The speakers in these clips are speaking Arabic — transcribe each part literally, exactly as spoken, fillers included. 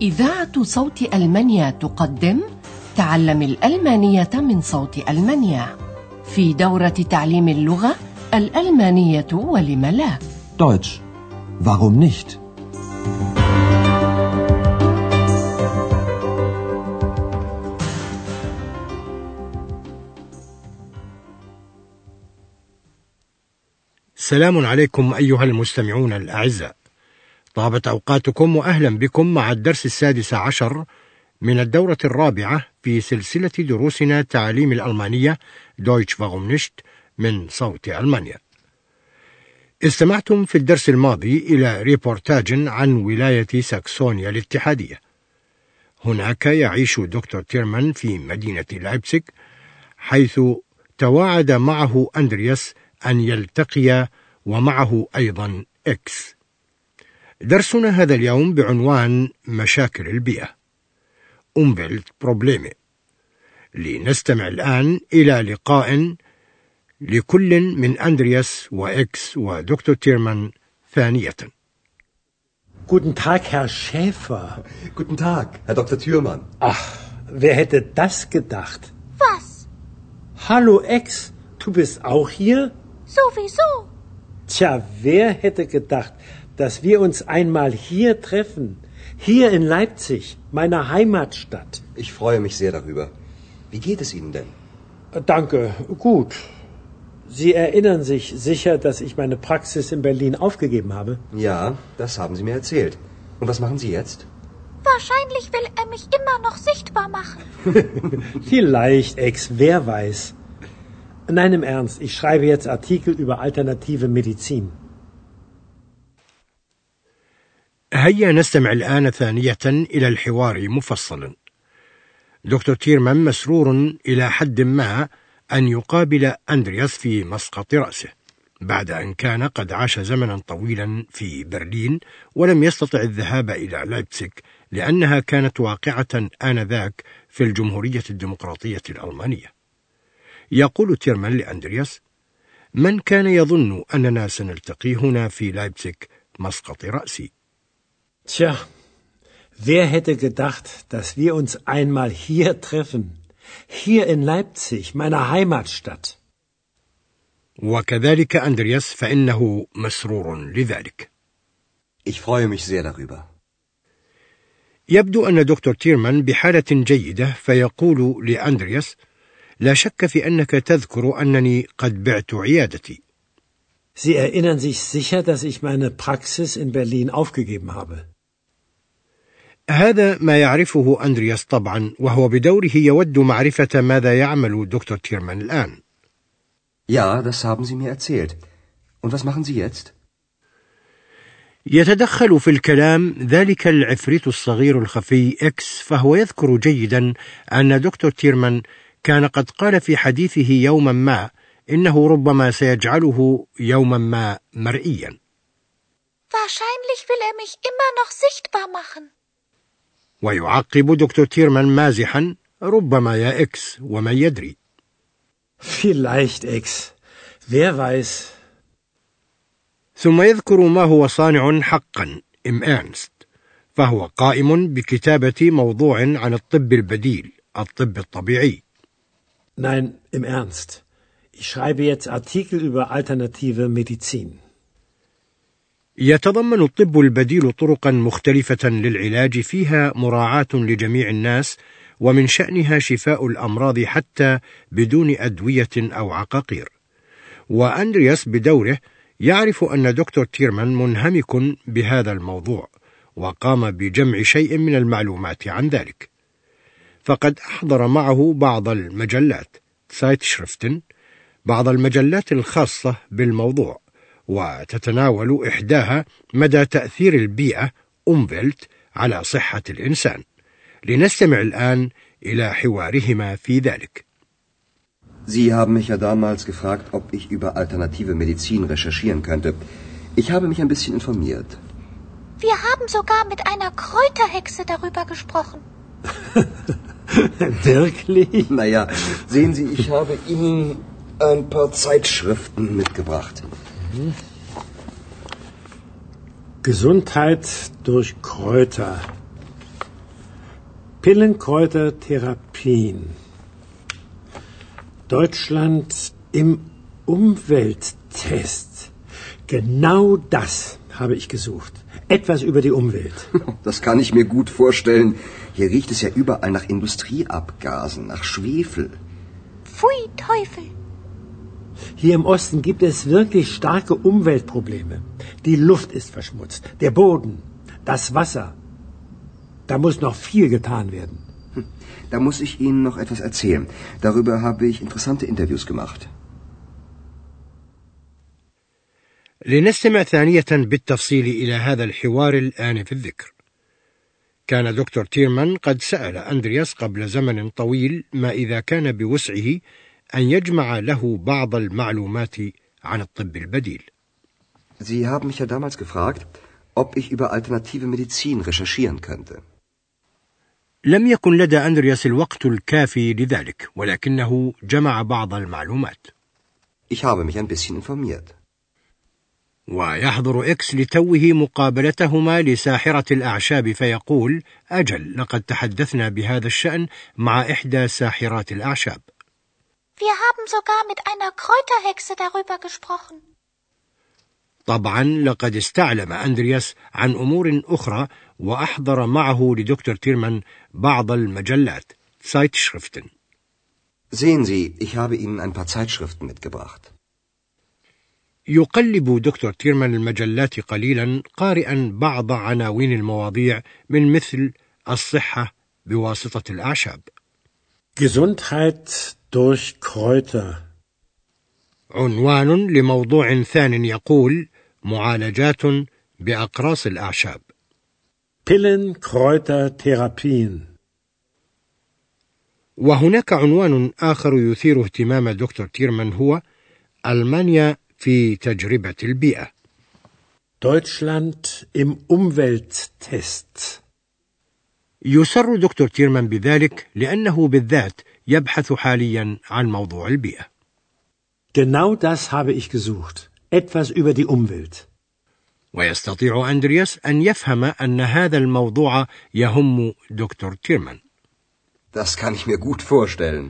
إذاعة صوت ألمانيا تقدم تعلم الألمانية من صوت ألمانيا في دورة تعليم اللغة الألمانية ولم لا. Deutsch. Warum nicht? السلام عليكم أيها المستمعون الأعزاء، طابت أوقاتكم وأهلا بكم مع الدرس السادس عشر من الدورة الرابعة في سلسلة دروسنا تعليم الألمانية Deutsch warum nicht من صوت ألمانيا. استمعتم في الدرس الماضي إلى ريبورتاج عن ولاية ساكسونيا الاتحادية. هناك يعيش دكتور تيرمان في مدينة لايبزيغ، حيث تواعد معه أندرياس أن يلتقي ومعه أيضا إكس. درسنا هذا اليوم بعنوان مشاكل البيئة Umweltprobleme. لنستمع الآن إلى لقاء لكل من أندرياس وإكس ودكتور تيرمان ثانية. Guten Tag, Herr Schäfer. Guten Tag, Herr Doktor Thürmann. Ach, wer hätte das gedacht? Was? Hallo, Ex, du bist auch hier? Sowieso. Tja, wer hätte gedacht, dass wir uns einmal hier treffen? Hier in Leipzig, meiner Heimatstadt. Ich freue mich sehr darüber. Wie geht es Ihnen denn? Danke, gut. Sie erinnern sich sicher, dass ich meine Praxis in Berlin aufgegeben habe? Ja, das haben Sie mir erzählt. Und was machen Sie jetzt? Wahrscheinlich will er mich immer noch sichtbar machen. Vielleicht, Ex, wer weiß. Nein, im Ernst, ich schreibe jetzt Artikel über alternative Medizin. هيا نستمع الآن ثانية إلى الحوار مفصلا. دكتور تيرمان مسرور إلى حد ما أن يقابل أندرياس في مسقط رأسه بعد أن كان قد عاش زمنا طويلا في برلين ولم يستطع الذهاب إلى لايبزيغ لأنها كانت واقعة آنذاك في الجمهورية الديمقراطية الألمانية. يقول تيرمان لأندرياس: من كان يظن أننا سنلتقي هنا في لايبزيغ مسقط رأسي؟ Tja, wer hätte gedacht, dass wir uns einmal hier treffen? Hier in Leipzig, meiner Heimatstadt. وكذلك أندرياس فإنه مسرور لذلك. Ich freue mich sehr darüber. يبدو أن دكتور تيرمان بحالة جيدة، فيقول لأندرياس: لا شك في أنك تذكر أنني قد بعت عيادتي. Sie erinnern sich sicher, dass ich meine Praxis in Berlin aufgegeben habe. هذا ما يعرفه أندرياس طبعا، وهو بدوره يود معرفة ماذا يعمل دكتور تيرمان الآن. Ja, das haben Sie mir erzählt. Und was machen Sie jetzt? يتدخل في الكلام ذلك العفريت الصغير الخفي إكس، فهو يذكر جيدا أن دكتور تيرمان كان قد قال في حديثه يوما ما إنه ربما سيجعله يوما ما مرئيا. Wahrscheinlich will er mich immer noch sichtbar machen. ويعقب دكتور تيرمان مازحا: ربما يا إكس، ومن يدري. Vielleicht, Ex. Wer weiß. ثم يذكر ما هو صانع حقا im Ernst، فهو قائم بكتابة موضوع عن الطب البديل، الطب الطبيعي. Nein, im Ernst. Ich schreibe jetzt Artikel über alternative Medizin. يتضمن الطب البديل طرقا مختلفة للعلاج فيها مراعاة لجميع الناس، ومن شأنها شفاء الأمراض حتى بدون أدوية أو عقاقير. وأندرياس بدوره يعرف أن دكتور تيرمان منهمك بهذا الموضوع، وقام بجمع شيء من المعلومات عن ذلك. فقد أحضر معه بعض المجلات Zeitschriften، بعض المجلات الخاصة بالموضوع، وتتناول إحداها مدى تأثير البيئة Umwelt على صحة الإنسان. لنستمع الآن إلى حوارهما في ذلك. Sie haben mich ja damals gefragt, ob ich über alternative Medizin recherchieren könnte. Ich habe mich ein bisschen informiert. Wir haben sogar mit einer Kräuterhexe darüber gesprochen. Wirklich? Naja, sehen Sie, ich habe Ihnen ein paar Zeitschriften mitgebracht. Mhm. Gesundheit durch Kräuter. Pillenkräutertherapien. Deutschland im Umwelttest. Genau das habe ich gesucht. Etwas über die Umwelt. Das kann ich mir gut vorstellen. Hier riecht es ja überall nach Industrieabgasen, nach Schwefel. Pfui, Teufel. Hier im Osten gibt es wirklich starke Umweltprobleme. Die Luft ist verschmutzt, der Boden, das Wasser. Da muss noch viel getan werden. Da muss ich Ihnen noch etwas erzählen. Darüber habe ich interessante Interviews gemacht. لنستمع ثانية بالتفصيل إلى هذا الحوار الآن في الذكر. كان دكتور تيرمان قد سأل أندرياس قبل زمن طويل ما إذا كان بوسعه أن يجمع له بعض المعلومات عن الطب البديل. Sie haben mich ja damals gefragt, ob ich über alternative Medizin recherchieren könnte. لم يكن لدى أندرياس الوقت الكافي لذلك، ولكنه جمع بعض المعلومات. Ich habe mich ein bisschen informiert. ويحضر إكس لتوه مقابلتهما لساحرة الأعشاب فيقول: أجل، لقد تحدثنا بهذا الشأن مع إحدى ساحرات الأعشاب. Wir haben sogar mit einer Kräuterhexe darüber gesprochen. طبعا لقد استعلم أندرياس عن أمور أخرى وأحضر معه لدكتور تيرمان بعض المجلات Zeitschriften. Sehen Sie, ich habe Ihnen ein paar Zeitschriften mitgebracht. يقلب دكتور تيرمان المجلات قليلا قارئا بعض عناوين المواضيع من مثل الصحة بواسطة الأعشاب. Gesundheit durch Kräuter. عنوان لموضوع ثان يقول: معالجات بأقراص الأعشاب. Pillenkräutertherapien. وهناك عنوان آخر يثير اهتمام دكتور تيرمان هو: ألمانيا في تجربة البيئة. Deutschland im Umwelttest. يسر دكتور تيرمان بذلك لأنه بالذات يبحث حاليا عن موضوع البيئة. Genau das habe ich gesucht. Etwas über die Umwelt. ويستطيع أندرياس أن يفهم أن هذا الموضوع يهم دكتور تيرمان. Das kann ich mir gut vorstellen.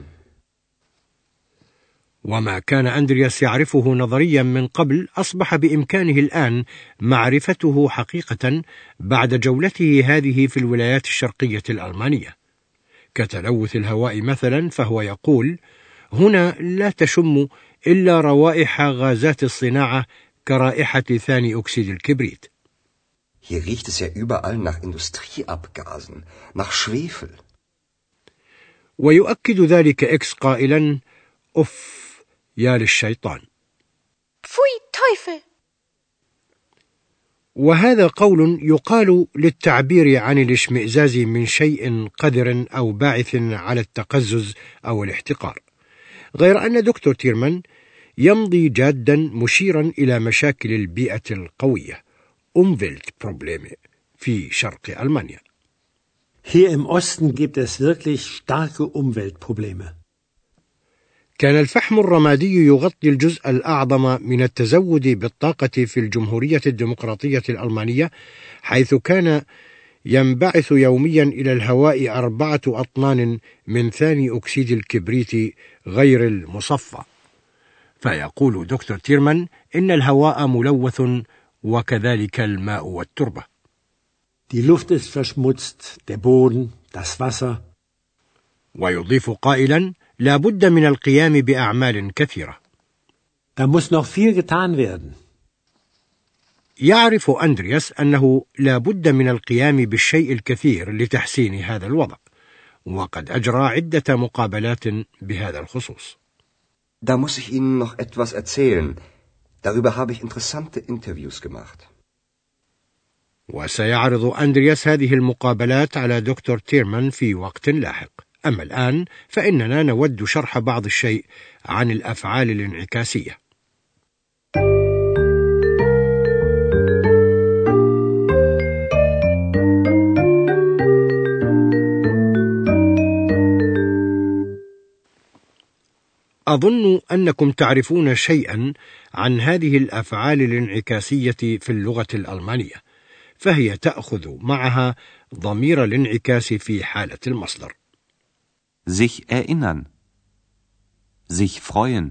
وما كان أندرياس يعرفه نظريا من قبل أصبح بإمكانه الآن معرفته حقيقة بعد جولته هذه في الولايات الشرقية الألمانية. كتلوث الهواء مثلا، فهو يقول: هنا لا تشم إلا روائح غازات الصناعة كرائحة ثاني أكسيد الكبريت. Hier riecht es ja überall nach Industrieabgasen, nach Schwefel. ويؤكد ذلك إكس قائلا: أف يا للشيطان. Pfui, Teufel. وهذا قول يقال للتعبير عن الاشمئزاز من شيء قذر أو باعث على التقزز أو الاحتقار، غير أن دكتور تيرمان يمضي جادا مشيرا إلى مشاكل البيئة القوية Umweltprobleme في شرق ألمانيا. Hier im Osten gibt es wirklich starke Umweltprobleme. كان الفحم الرمادي يغطي الجزء الأعظم من التزود بالطاقة في الجمهورية الديمقراطية الألمانية، حيث كان ينبعث يوميا إلى الهواء أربعة أطنان من ثاني أكسيد الكبريت غير المصفى. فيقول دكتور تيرمان إن الهواء ملوث وكذلك الماء والتربة. Die Luft ist verschmutzt, der Boden, das Wasser. ويضيف قائلا: لا بد من القيام بأعمال كثيرة. Da muss noch viel getan werden. يعرف أندرياس أنه لا بد من القيام بالشيء الكثير لتحسين هذا الوضع، وقد أجرى عدة مقابلات بهذا الخصوص. Da muss ich Ihnen noch etwas erzählen. Darüber habe ich interessante Interviews gemacht. وسيعرض أندرياس هذه المقابلات على دكتور تيرمان في وقت لاحق. أما الآن فإننا نود شرح بعض الشيء عن الأفعال الانعكاسية. أظن أنكم تعرفون شيئا عن هذه الأفعال الانعكاسية في اللغة الألمانية، فهي تأخذ معها ضمير الانعكاس في حالة المصدر. sich erinnern, sich freuen.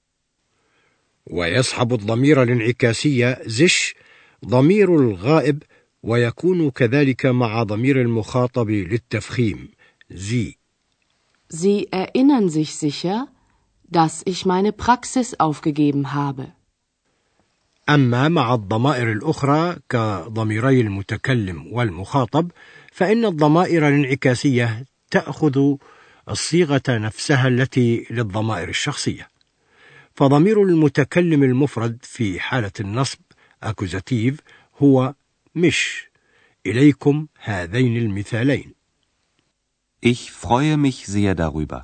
ويصحب الضمير الانعكاسي sich ضمير الغائب، ويكون كذلك مع ضمير المخاطب للتفخيم Sie. Sie erinnern sich sicher, dass ich meine Praxis aufgegeben habe. أما مع الضمائر الأخرى كضميري المتكلم والمخاطب، فإن الضمائر الانعكاسية تأخذ الصيغة نفسها التي للضمائر الشخصية. فضمير المتكلم المفرد في حالة النصب accusative هو مش. إليكم هذين المثالين. Ich freue mich sehr darüber.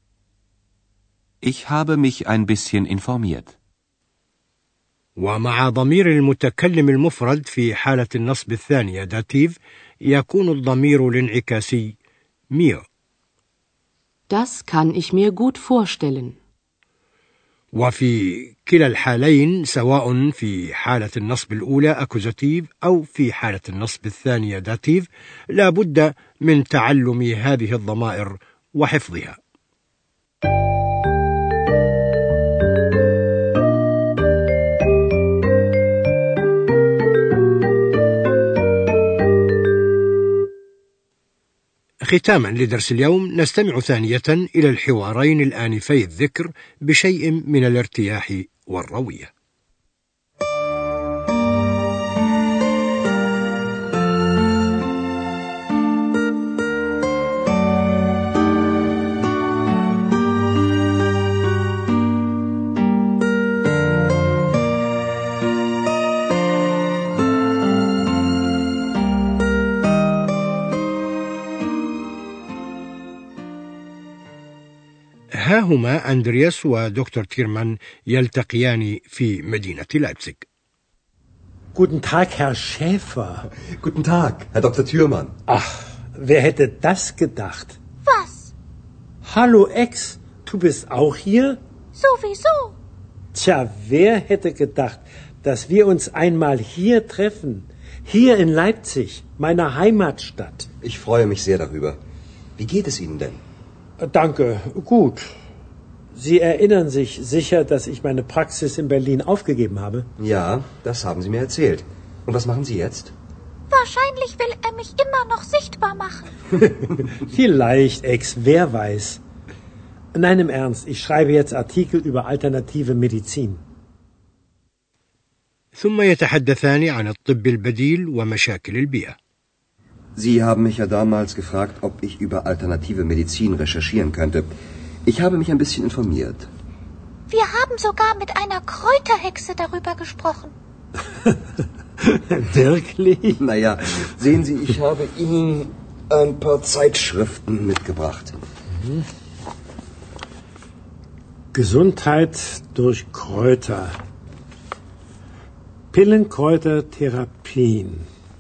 Ich habe mich ein bisschen informiert. ومع ضمير المتكلم المفرد في حالة النصب الثانية داتيف يكون الضمير الانعكاسي mir. Das kann ich mir gut vorstellen. وفي كلا الحالين سواء في حالة النصب الأولى أكوزاتيف أو في حالة النصب الثانية داتيف لا بد من تعلم هذه الضمائر وحفظها. ختاما لدرس اليوم نستمع ثانية إلى الحوارين الآنفي الذكر بشيء من الارتياح والروية. ها هما أندرياس ودكتور تيرمان يلتقيان في مدينة لايبزيغ. Guten Tag, Herr Schäfer. Guten Tag, Herr Doktor Thürmann. Ach, wer hätte das gedacht? Was? Hallo Ex, du bist auch hier? Sowieso. Tja, wer hätte gedacht, dass wir uns einmal hier treffen? Hier in Leipzig, meiner Heimatstadt. Ich freue mich sehr darüber. Wie geht es Ihnen denn? Danke, gut. Sie erinnern sich sicher, dass ich meine Praxis in Berlin aufgegeben habe? Ja, das haben Sie mir erzählt. Und was machen Sie jetzt? Wahrscheinlich will er mich immer noch sichtbar machen. Vielleicht, Ex, wer weiß. Nein, im Ernst, ich schreibe jetzt Artikel über alternative Medizin. ثم يتحدثان عن الطب البديل ومشاكل البيئة. Sie haben mich ja damals gefragt, ob ich über alternative Medizin recherchieren könnte. Ich habe mich ein bisschen informiert. Wir haben sogar mit einer Kräuterhexe darüber gesprochen. Wirklich? Naja, sehen Sie, ich habe Ihnen ein paar Zeitschriften mitgebracht. Mhm. Gesundheit durch Kräuter. Pillenkräutertherapien.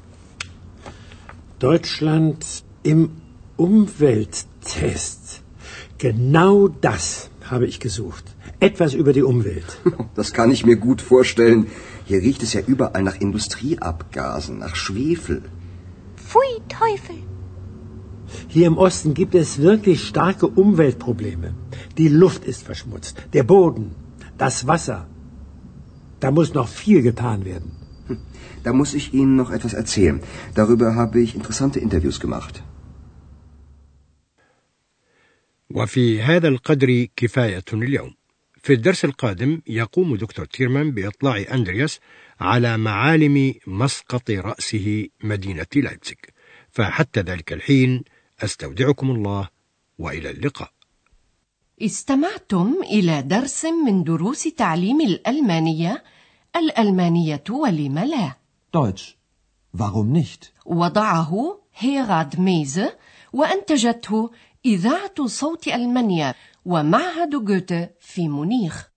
Deutschland im Umwelttest. Genau das habe ich gesucht. Etwas über die Umwelt. Das kann ich mir gut vorstellen. Hier riecht es ja überall nach Industrieabgasen, nach Schwefel. Pfui, Teufel. Hier im Osten gibt es wirklich starke Umweltprobleme. Die Luft ist verschmutzt, der Boden, das Wasser. Da muss noch viel getan werden. Da muss ich Ihnen noch etwas erzählen. Darüber habe ich interessante Interviews gemacht. وفي هذا القدر كفاية اليوم. في الدرس القادم يقوم دكتور تيرمان بإطلاع أندرياس على معالم مسقط رأسه مدينة لايبزيغ. فحتى ذلك الحين أستودعكم الله وإلى اللقاء. استمعتم إلى درس من دروس تعليم الألمانية الألمانية ولم لا. Deutsch. Warum nicht? وضعه هيراد ميزه وأنتجته إذاعة صوت ألمانيا ومعهد جوته في مونيخ.